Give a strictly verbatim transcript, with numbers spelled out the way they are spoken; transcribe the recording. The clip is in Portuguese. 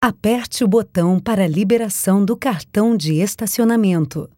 Aperte o botão para liberação do cartão de estacionamento.